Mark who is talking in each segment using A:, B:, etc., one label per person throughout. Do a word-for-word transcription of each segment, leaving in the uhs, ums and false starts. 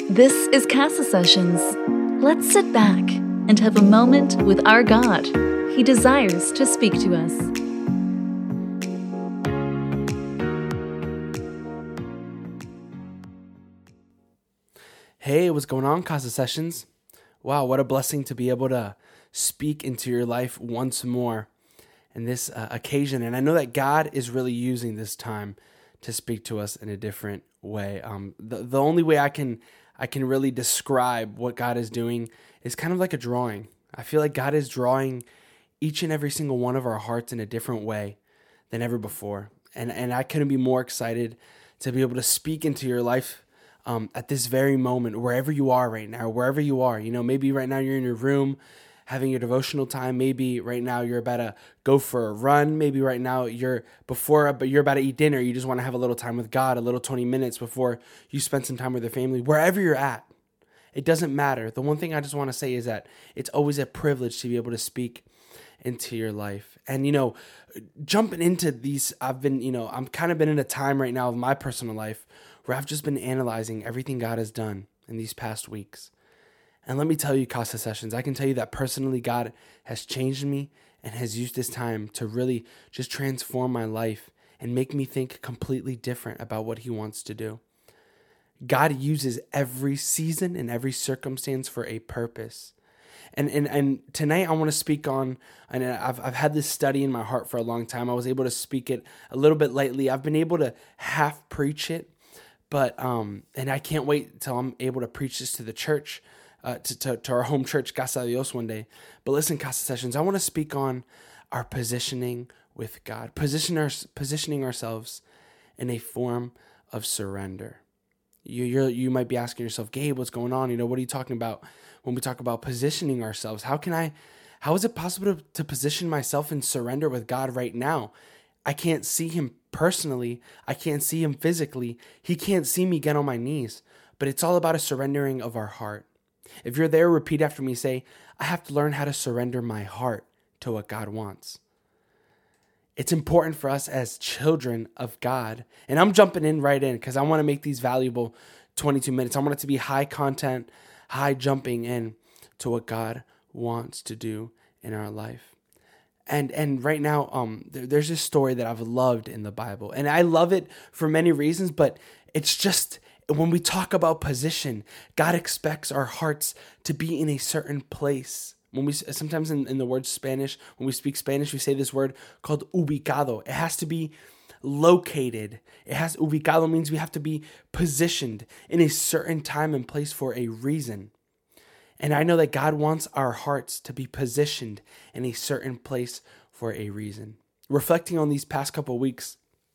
A: This is Casa Sessions. Let's sit back and have a moment with our God. He desires to speak to us.
B: Hey, what's going on, Casa Sessions? Wow, what a blessing to be able to speak into your life once more in this uh, occasion. And I know that God is really using this time to speak to us in a different way. Um, the, the only way I can I can really describe what God is doing is kind of like a drawing. I feel like God is drawing each and every single one of our hearts in a different way than ever before. And and I couldn't be more excited to be able to speak into your life um, at this very moment, wherever you are right now, wherever you are. You know, maybe right now you're in your room having your devotional time. Maybe right now you're about to go for a run. Maybe right now you're before, but you're about to eat dinner. You just want to have a little time with God, a little twenty minutes before you spend some time with your family. Wherever you're at, it doesn't matter. The one thing I just want to say is that it's always a privilege to be able to speak into your life. And, you know, jumping into these, I've been, you know, I'm kind of been in a time right now of my personal life where I've just been analyzing everything God has done in these past weeks. And let me tell you, Casa Sessions, I can tell you that personally God has changed me and has used this time to really just transform my life and make me think completely different about what he wants to do. God uses every season and every circumstance for a purpose. And and and tonight I want to speak on, and I've I've had this study in my heart for a long time. I was able to speak it a little bit lately. I've been able to half preach it, but um, and I can't wait till I'm able to preach this to the church. Uh, to, to, to our home church, Casa de Dios, one day. But listen, Casa Sessions, I want to speak on our positioning with God, position our, positioning ourselves in a form of surrender. You you're, you might be asking yourself, Gabe, what's going on? You know, what are you talking about when we talk about positioning ourselves? How can I, how is it possible to, to position myself in surrender with God right now? I can't see him personally. I can't see him physically. He can't see me get on my knees. But it's all about a surrendering of our heart. If you're there, repeat after me. Say, I have to learn how to surrender my heart to what God wants. It's important for us as children of God. And I'm jumping in right in because I want to make these valuable twenty-two minutes. I want it to be high content, high jumping in to what God wants to do in our life. And and right now, um, there, there's this story that I've loved in the Bible. And I love it for many reasons, but it's just... when we talk about position, God expects our hearts to be in a certain place. When we sometimes in, in the word Spanish, when we speak Spanish, we say this word called ubicado. It has to be located. It has ubicado means we have to be positioned in a certain time and place for a reason. And I know that God wants our hearts to be positioned in a certain place for a reason. Reflecting on these past couple of weeks,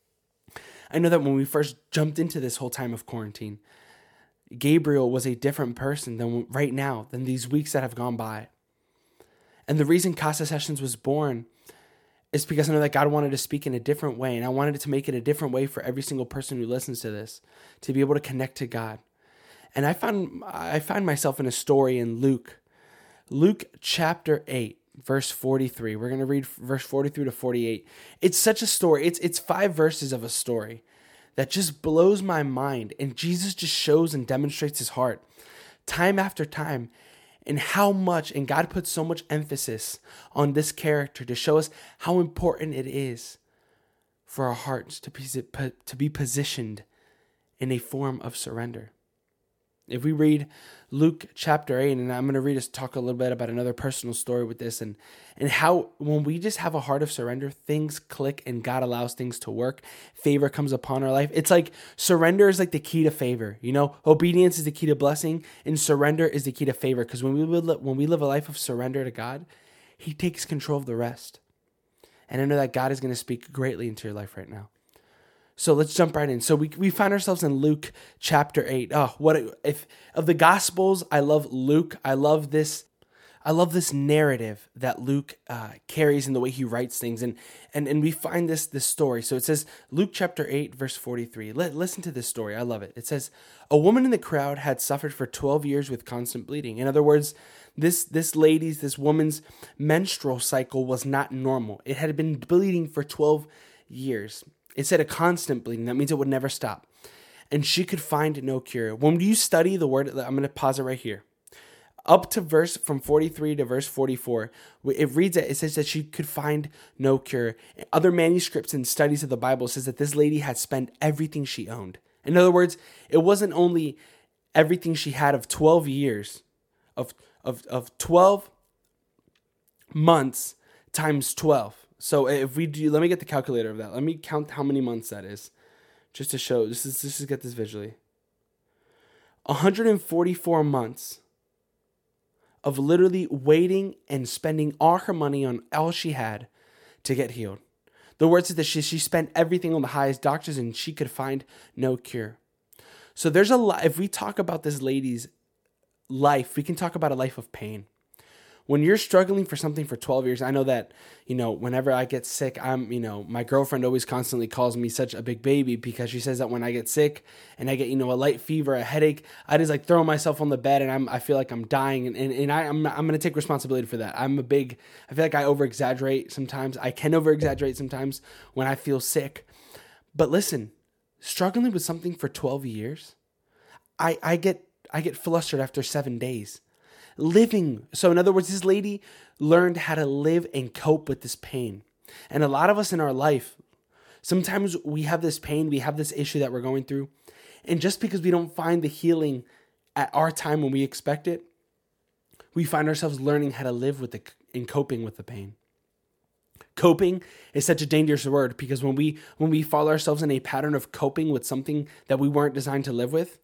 B: I know that when we first jumped into this whole time of quarantine, Gabriel was a different person than right now, than these weeks that have gone by. And the reason Casa Sessions was born is because I know that God wanted to speak in a different way, and I wanted to make it a different way for every single person who listens to this, to be able to connect to God. And I found I find myself in a story in Luke, Luke chapter eight. Verse forty-three. We're going to read verse forty-three to forty-eight. It's such a story. It's it's five verses of a story that just blows my mind. And Jesus just shows and demonstrates his heart time after time, and how much, and God puts so much emphasis on this character to show us how important it is for our hearts to be, to be positioned in a form of surrender. If we read Luke chapter eight, and I'm going to read us talk a little bit about another personal story with this, and, and how when we just have a heart of surrender, things click and God allows things to work. Favor comes upon our life. It's like surrender is like the key to favor. You know, obedience is the key to blessing, and surrender is the key to favor. Because when we live, when we live a life of surrender to God, he takes control of the rest. And I know that God is going to speak greatly into your life right now. So let's jump right in. So we we find ourselves in Luke chapter eight. Oh, what a, if of the Gospels, I love Luke. I love this. I love this narrative that Luke uh, carries in the way he writes things, and and and we find this this story. So it says Luke chapter eight, verse forty-three. Let, listen to this story. I love it. It says, a woman in the crowd had suffered for twelve years with constant bleeding. In other words, this this lady's, this woman's menstrual cycle was not normal. It had been bleeding for twelve years. It said a constant bleeding. That means it would never stop. and she could find no cure. When you study the word, I'm going to pause it right here. Up to verse from forty-three to verse forty-four, it reads it. It says that she could find no cure. Other manuscripts and studies of the Bible says that this lady had spent everything she owned. In other words, it wasn't only everything she had of twelve years, of of of twelve months times twelve. So if we do, let me get the calculator of that. Let me count how many months that is, just to show. This is just to get this visually. one hundred forty-four months of literally waiting and spending all her money on all she had to get healed. The word says that she, she spent everything on the highest doctors and she could find no cure. So there's a lot, if we talk about this lady's life, we can talk about a life of pain. When you're struggling for something for twelve years, I know that, you know, whenever I get sick, I'm, you know, my girlfriend always constantly calls me such a big baby because she says that when I get sick and I get, you know, a light fever, a headache, I just like throw myself on the bed and I'm, I feel like I'm dying. And, and, and I, I'm, I'm going to take responsibility for that. I'm a big, I feel like I over exaggerate sometimes. I can over exaggerate sometimes when I feel sick. But listen, struggling with something for twelve years, I, I get, I get flustered after seven days. Living. So in other words, this lady learned how to live and cope with this pain. And a lot of us in our life, sometimes we have this pain, we have this issue that we're going through. And just because we don't find the healing at our time when we expect it, we find ourselves learning how to live with it and coping with the pain. Coping is such a dangerous word because when we when we follow ourselves in a pattern of coping with something that we weren't designed to live with,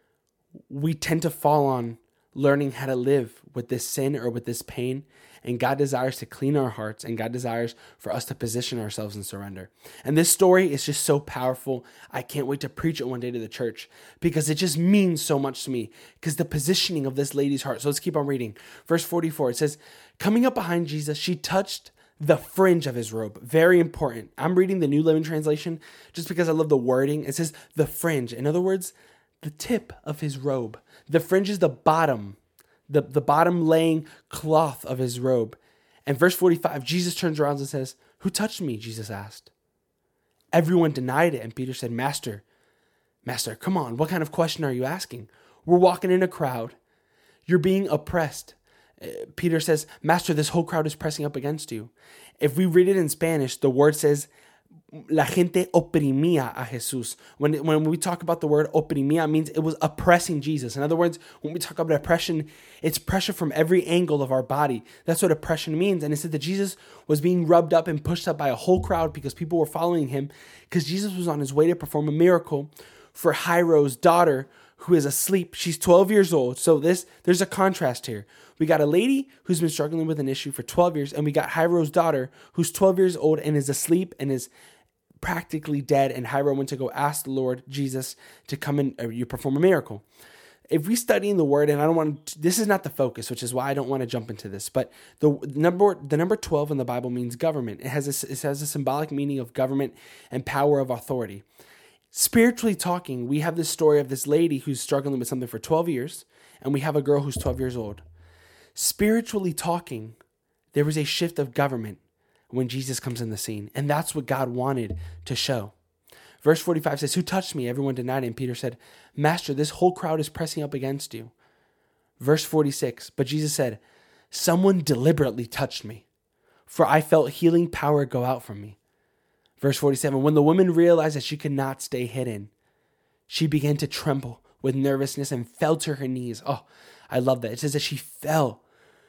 B: we tend to fall on learning how to live with this sin or with this pain. And God desires to clean our hearts, and God desires for us to position ourselves in surrender. And this story is just so powerful. I can't wait to preach it one day to the church because it just means so much to me because the positioning of this lady's heart. So let's keep on reading. Verse forty-four, it says, coming up behind Jesus, she touched the fringe of his robe. Very important. I'm reading the New Living Translation just because I love the wording. It says the fringe. In other words, the tip of his robe. The fringe is the bottom, the, the bottom laying cloth of his robe. And verse forty-five, Jesus turns around and says, who touched me? Jesus asked. Everyone denied it. And Peter said, Master, Master, come on. What kind of question are you asking? We're walking in a crowd. You're being oppressed. Uh, Peter says, Master, this whole crowd is pressing up against you. If we read it in Spanish, the word says, la gente oprimía a Jesús. When, when we talk about the word oprimía, it means it was oppressing Jesus. In other words, when we talk about oppression, it's pressure from every angle of our body. That's what oppression means. And it said that Jesus was being rubbed up and pushed up by a whole crowd because people were following him because Jesus was on his way to perform a miracle for Jairo's daughter who is asleep. She's twelve years old. So this there's a contrast here. We got a lady who's been struggling with an issue for twelve years, and we got Jairo's daughter who's twelve years old and is asleep and is practically dead, and Jairo went to go ask the Lord Jesus to come and uh, you perform a miracle. If we study in the word, and I don't want to, this is not the focus, which is why I don't want to jump into this, but the number the number twelve in the Bible means government. It has a, it has a symbolic meaning of government and power of authority. Spiritually talking, we have this story of this lady who's struggling with something for twelve years, and we have a girl who's twelve years old. Spiritually talking, there was a shift of government when Jesus comes in the scene. And that's what God wanted to show. Verse forty-five says, who touched me? Everyone denied it. And Peter said, Master, this whole crowd is pressing up against you. Verse forty-six, but Jesus said, someone deliberately touched me, for I felt healing power go out from me. Verse forty-seven, when the woman realized that she could not stay hidden, she began to tremble with nervousness and fell to her knees. Oh, I love that. It says that she fell.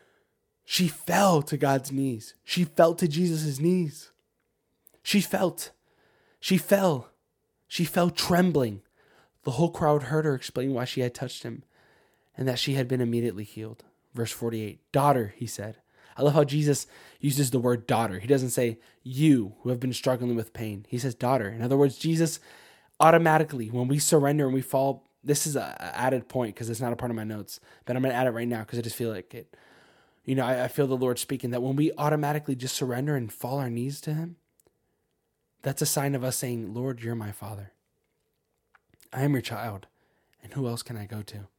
B: She fell to God's knees. She fell to Jesus' knees. She felt. She fell. She fell trembling. The whole crowd heard her explain why she had touched him and that she had been immediately healed. Verse forty-eight, daughter, he said. I love how Jesus uses the word daughter. He doesn't say you who have been struggling with pain. He says daughter. In other words, Jesus automatically, when we surrender and we fall, this is an added point because it's not a part of my notes, but I'm going to add it right now because I just feel like it. You know, I, I feel the Lord speaking that when we automatically just surrender and fall our knees to him, that's a sign of us saying, Lord, you're my Father. I am your child. And who else can I go to?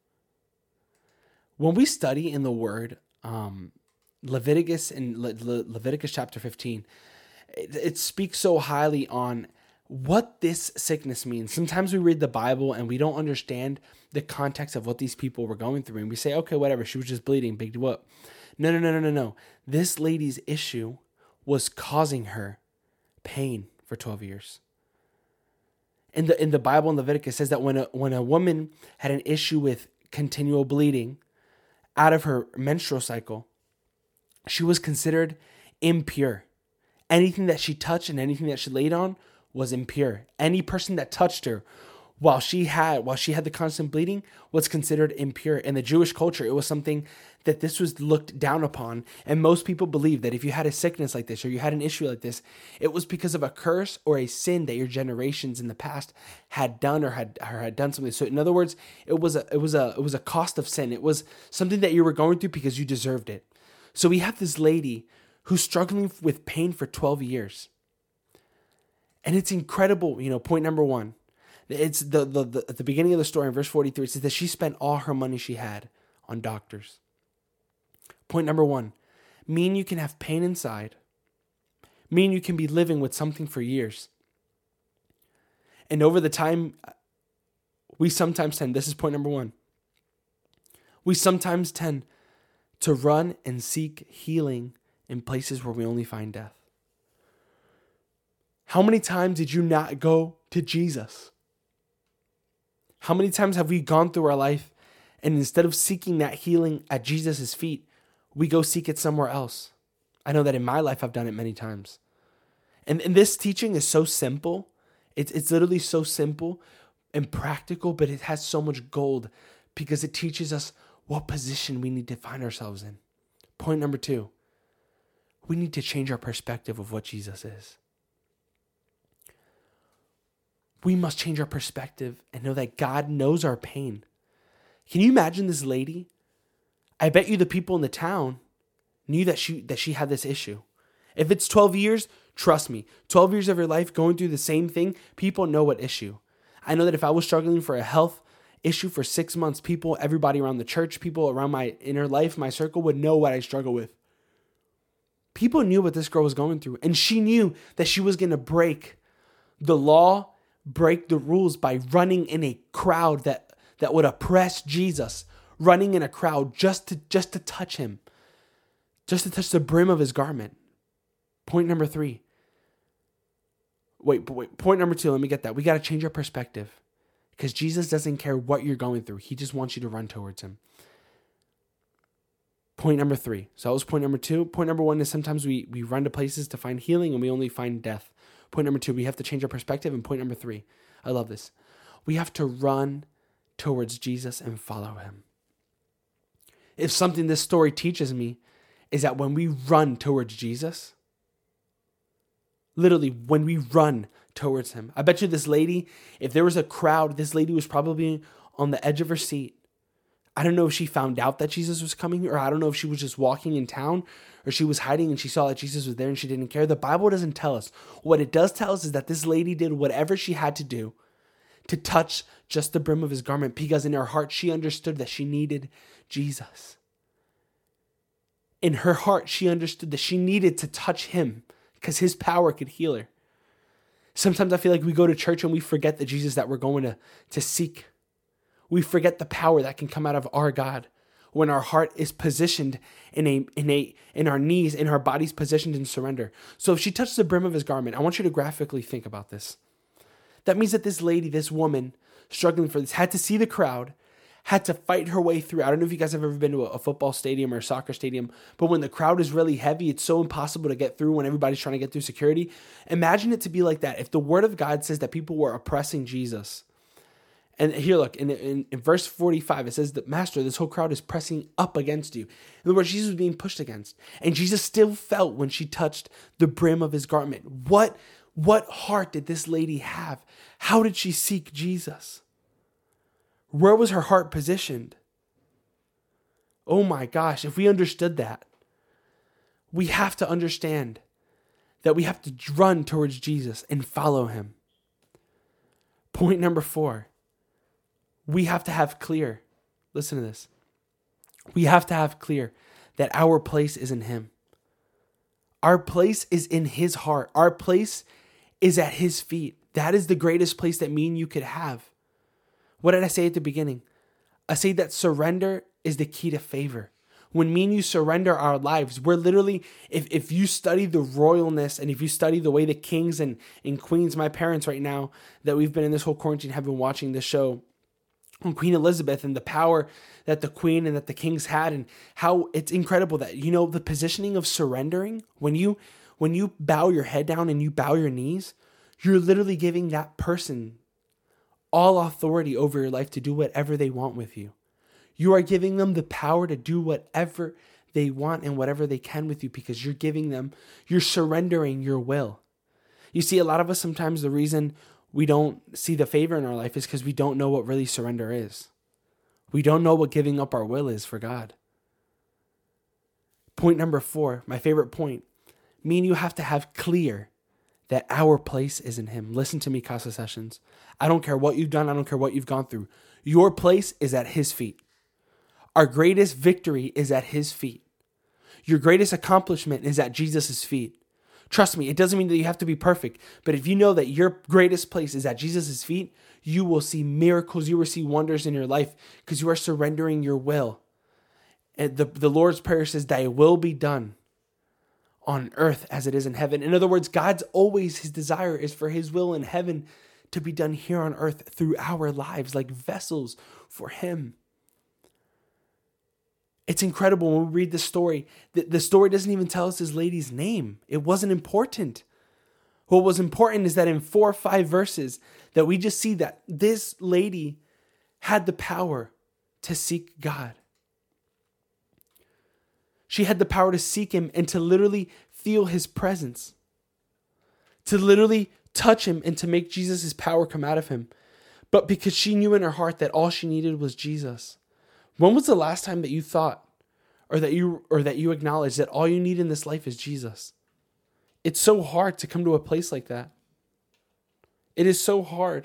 B: When we study in the word, um, Leviticus in Le- Le- Leviticus chapter fifteen, it, it speaks so highly on what this sickness means. Sometimes we read the Bible and we don't understand the context of what these people were going through. And we say, okay, whatever, she was just bleeding, big whoop. No, no, no, no, no, no. This lady's issue was causing her pain for twelve years. In the in the Bible in Leviticus, it says that when a, when a woman had an issue with continual bleeding out of her menstrual cycle, she was considered impure. Anything that she touched and anything that she laid on was impure. Any person that touched her while she had while she had the constant bleeding was considered impure. In the Jewish culture, it was something that this was looked down upon. And most people believe that if you had a sickness like this or you had an issue like this, it was because of a curse or a sin that your generations in the past had done or had or had done something. So in other words, it was a it was a it was a cost of sin. It was something that you were going through because you deserved it. So we have this lady who's struggling with pain for twelve years. And it's incredible, you know, point number one. It's the, the, the at the beginning of the story in verse forty-three, it says that she spent all her money she had on doctors. Point number one, mean you can have pain inside. Mean you can be living with something for years. And over the time, we sometimes tend, this is point number one, we sometimes tend to run and seek healing in places where we only find death. How many times did you not go to Jesus? How many times have we gone through our life and instead of seeking that healing at Jesus' feet, we go seek it somewhere else? I know that in my life, I've done it many times. And, and this teaching is so simple. It's, it's literally so simple and practical, but it has so much gold because it teaches us what position we need to find ourselves in. Point number two, we need to change our perspective of what Jesus is. We must change our perspective and know that God knows our pain. Can you imagine this lady? I bet you the people in the town knew that she that she had this issue. If it's twelve years, trust me, twelve years of your life going through the same thing, people know what issue. I know that if I was struggling for a health issue for six months, people, everybody around the church, people around my inner life, my circle would know what I struggle with. People knew what this girl was going through, and she knew that she was going to break the law, break the rules by running in a crowd that, that would oppress Jesus, running in a crowd just to just to touch him, just to touch the brim of his garment. Point number three. Wait, wait, point number two, let me get that. We got to change our perspective because Jesus doesn't care what you're going through. He just wants you to run towards him. Point number three. So that was point number two. Point number one is sometimes we, we run to places to find healing and we only find death. Point number two, we have to change our perspective. And point number three, I love this. We have to run towards Jesus and follow him. If something this story teaches me is that when we run towards Jesus, literally when we run towards him, I bet you this lady, if there was a crowd, this lady was probably on the edge of her seat. I don't know if she found out that Jesus was coming, or I don't know if she was just walking in town, or she was hiding and she saw that Jesus was there and she didn't care. The Bible doesn't tell us. What it does tell us is that this lady did whatever she had to do to touch just the brim of his garment, because in her heart, she understood that she needed Jesus. In her heart, she understood that she needed to touch him because his power could heal her. Sometimes I feel like we go to church and we forget the Jesus that we're going to, to seek. We forget the power that can come out of our God when our heart is positioned in a in a in our knees, in our bodies positioned in surrender. So if she touched the brim of his garment, I want you to graphically think about this. That means that this lady, this woman struggling for this, had to see the crowd, had to fight her way through. I don't know if you guys have ever been to a football stadium or a soccer stadium, but when the crowd is really heavy, it's so impossible to get through when everybody's trying to get through security. Imagine it to be like that. If the word of God says that people were oppressing Jesus, and here, look, in, in, in verse forty-five, it says that, Master, this whole crowd is pressing up against you. In other words, Jesus was being pushed against. And Jesus still felt when she touched the brim of his garment. What, what heart did this lady have? How did she seek Jesus? Where was her heart positioned? Oh my gosh, if we understood that, we have to understand that we have to run towards Jesus and follow him. Point number four. We have to have clear, listen to this. We have to have clear that our place is in him. Our place is in his heart. Our place is at his feet. That is the greatest place that me and you could have. What did I say at the beginning? I say that surrender is the key to favor. When me and you surrender our lives, we're literally, if, if you study the royalness and if you study the way the kings and, and queens, my parents right now, that we've been in this whole quarantine, have been watching this show on Queen Elizabeth and the power that the queen and that the kings had, and how it's incredible that, you know, the positioning of surrendering, when you, when you bow your head down and you bow your knees, you're literally giving that person all authority over your life to do whatever they want with you. You are giving them the power to do whatever they want and whatever they can with you, because you're giving them, you're surrendering your will. You see, a lot of us, sometimes the reason we don't see the favor in our life is because we don't know what really surrender is. We don't know what giving up our will is for God. Point number four, my favorite point. Me and you have to have clear that our place is in Him. Listen to me, Casa Sessions. I don't care what you've done. I don't care what you've gone through. Your place is at His feet. Our greatest victory is at His feet. Your greatest accomplishment is at Jesus' feet. Trust me, it doesn't mean that you have to be perfect, but if you know that your greatest place is at Jesus' feet, you will see miracles, you will see wonders in your life, because you are surrendering your will. And the, the Lord's Prayer says, thy will be done on earth as it is in heaven. In other words, God's always, His desire is for His will in heaven to be done here on earth through our lives, like vessels for Him. It's incredible when we read the story. The, the story doesn't even tell us this lady's name. It wasn't important. What was important is that in four or five verses that we just see that this lady had the power to seek God. She had the power to seek Him and to literally feel His presence. To literally touch Him and to make Jesus' power come out of Him. But because she knew in her heart that all she needed was Jesus. When was the last time that you thought or that you or that you acknowledged that all you need in this life is Jesus? It's so hard to come to a place like that. It is so hard.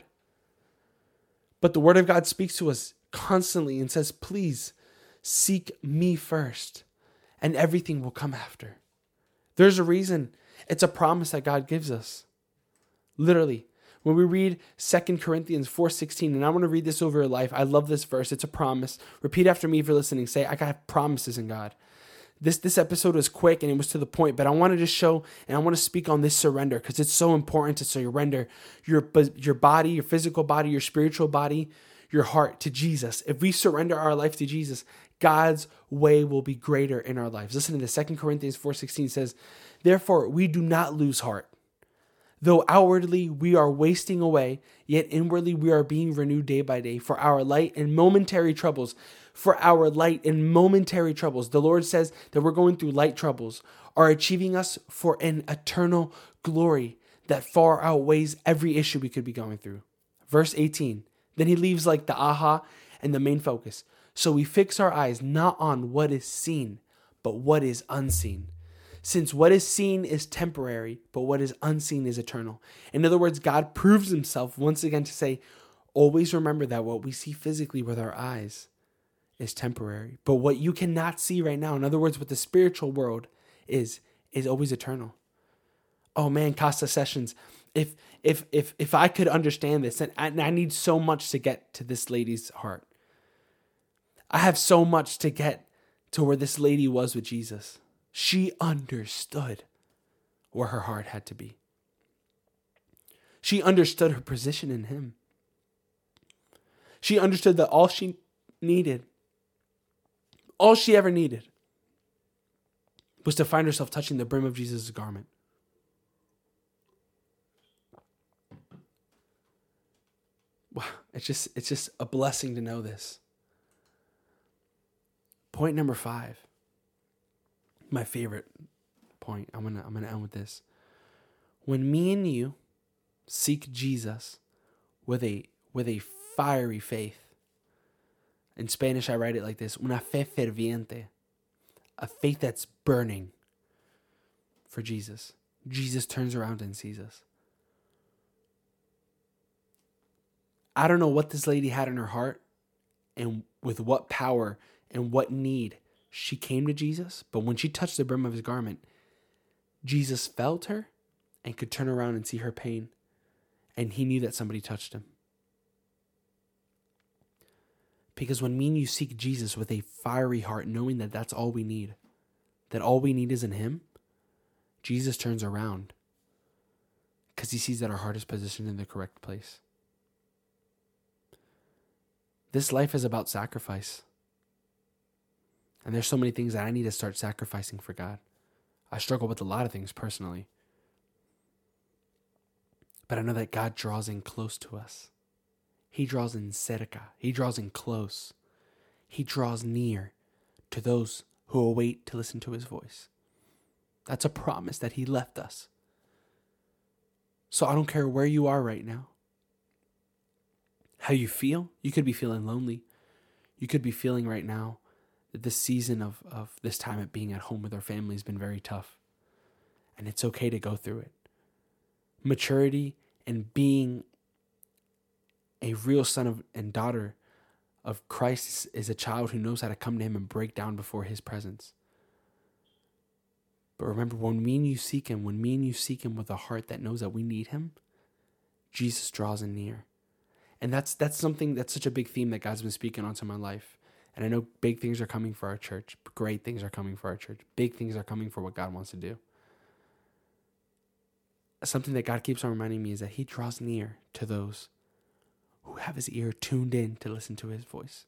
B: But the Word of God speaks to us constantly and says, please seek me first, and everything will come after. There's a reason. It's a promise that God gives us. Literally. When we read Second Corinthians four sixteen, and I want to read this over your life. I love this verse. It's a promise. Repeat after me if you're listening. Say, I got promises in God. This, this episode was quick and it was to the point, but I want to just show and I want to speak on this surrender, because it's so important to surrender your, your body, your physical body, your spiritual body, your heart to Jesus. If we surrender our life to Jesus, God's way will be greater in our lives. Listen to this. Second Corinthians four sixteen says, therefore we do not lose heart. Though outwardly we are wasting away, yet inwardly we are being renewed day by day. For our light and momentary troubles, for our light and momentary troubles, the Lord says that we're going through light troubles, are achieving us for an eternal glory that far outweighs every issue we could be going through. Verse eighteen, then he leaves like the aha and the main focus. So we fix our eyes not on what is seen, but what is unseen. Since what is seen is temporary, but what is unseen is eternal. In other words, God proves Himself once again to say, always remember that what we see physically with our eyes is temporary. But what you cannot see right now, in other words, what the spiritual world is, is always eternal. Oh man, Casa Sessions, if if if if I could understand this, and I, and I need so much to get to this lady's heart. I have so much to get to where this lady was with Jesus. She understood where her heart had to be. She understood her position in Him. She understood that all she needed, all she ever needed, was to find herself touching the brim of Jesus' garment. Wow, it's just, it's just a blessing to know this. Point number five. My favorite point. I'm gonna I'm gonna end with this. When me and you seek Jesus with a with a fiery faith. In Spanish, I write it like this: una fe ferviente, a faith that's burning for Jesus. Jesus turns around and sees us. I don't know what this lady had in her heart, and with what power and what need she came to Jesus, but when she touched the brim of His garment, Jesus felt her and could turn around and see her pain and he knew that somebody touched him. Because when me and you seek Jesus with a fiery heart, knowing that that's all we need, that all we need is in him, Jesus turns around because he sees that our heart is positioned in the correct place. This life is about sacrifice. And there's so many things that I need to start sacrificing for God. I struggle with a lot of things personally. But I know that God draws in close to us. He draws in cerca. He draws in close. He draws near to those who await to listen to his voice. That's a promise that he left us. So I don't care where you are right now. How you feel. You could be feeling lonely. You could be feeling right now that this season of, of this time at being at home with our family has been very tough. And it's okay to go through it. Maturity and being a real son of and daughter of Christ is a child who knows how to come to him and break down before his presence. But remember, when me and you seek him, when me and you seek him with a heart that knows that we need him, Jesus draws in near. And that's that's something that's such a big theme that God's been speaking onto my life. And I know big things are coming for our church. Great things are coming for our church. Big things are coming for what God wants to do. Something that God keeps on reminding me is that he draws near to those who have his ear tuned in to listen to his voice.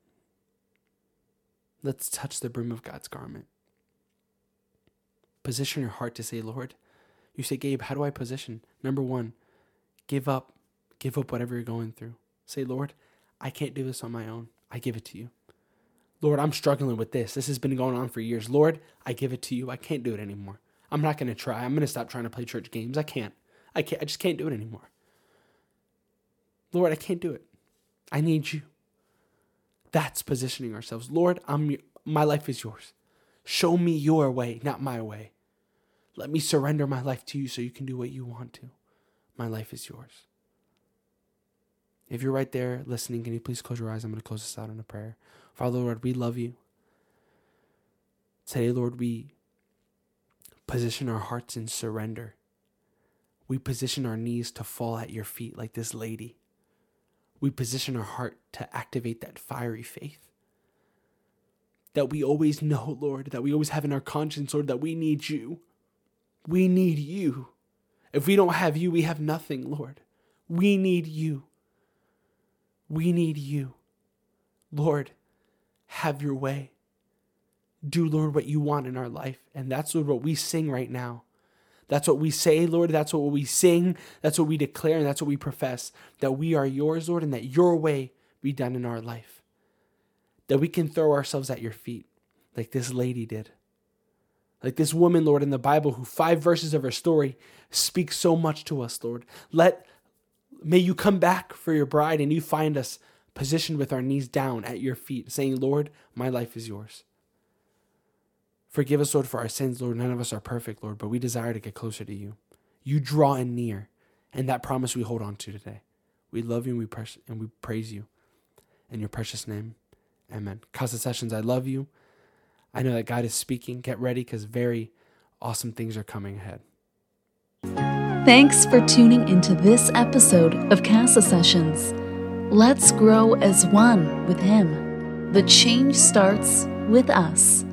B: Let's touch the brim of God's garment. Position your heart to say, Lord, you say, Gabe, how do I position? Number one, give up. Give up whatever you're going through. Say, Lord, I can't do this on my own. I give it to you. Lord, I'm struggling with this. This has been going on for years. Lord, I give it to you. I can't do it anymore. I'm not going to try. I'm going to stop trying to play church games. I can't. I can't. I just can't do it anymore. Lord, I can't do it. I need you. That's positioning ourselves. Lord, I'm. my life is yours. Show me your way, not my way. Let me surrender my life to you so you can do what you want to. My life is yours. If you're right there listening, can you please close your eyes? I'm going to close this out in a prayer. Father, Lord, we love you. Today, Lord, we position our hearts in surrender. We position our knees to fall at your feet like this lady. We position our heart to activate that fiery faith. That we always know, Lord, that we always have in our conscience, Lord, that we need you. We need you. If we don't have you, we have nothing, Lord. We need you. We need you. Lord, have your way. Do, Lord, what you want in our life. And that's, Lord, what we sing right now. That's what we say, Lord. That's what we sing. That's what we declare. And that's what we profess. That we are yours, Lord, and that your way be done in our life. That we can throw ourselves at your feet like this lady did. Like this woman, Lord, in the Bible, who five verses of her story speak so much to us, Lord. Let, may you come back for your bride and you find us positioned with our knees down at your feet, saying, Lord, my life is yours. Forgive us, Lord, for our sins, Lord. None of us are perfect, Lord, but we desire to get closer to you. You draw in near, and that promise we hold on to today. We love you and we, pres- and we praise you. In your precious name, amen. Casa Sessions, I love you. I know that God is speaking. Get ready because very awesome things are coming ahead.
A: Thanks for tuning into this episode of Casa Sessions. Let's grow as one with Him. The change starts with us.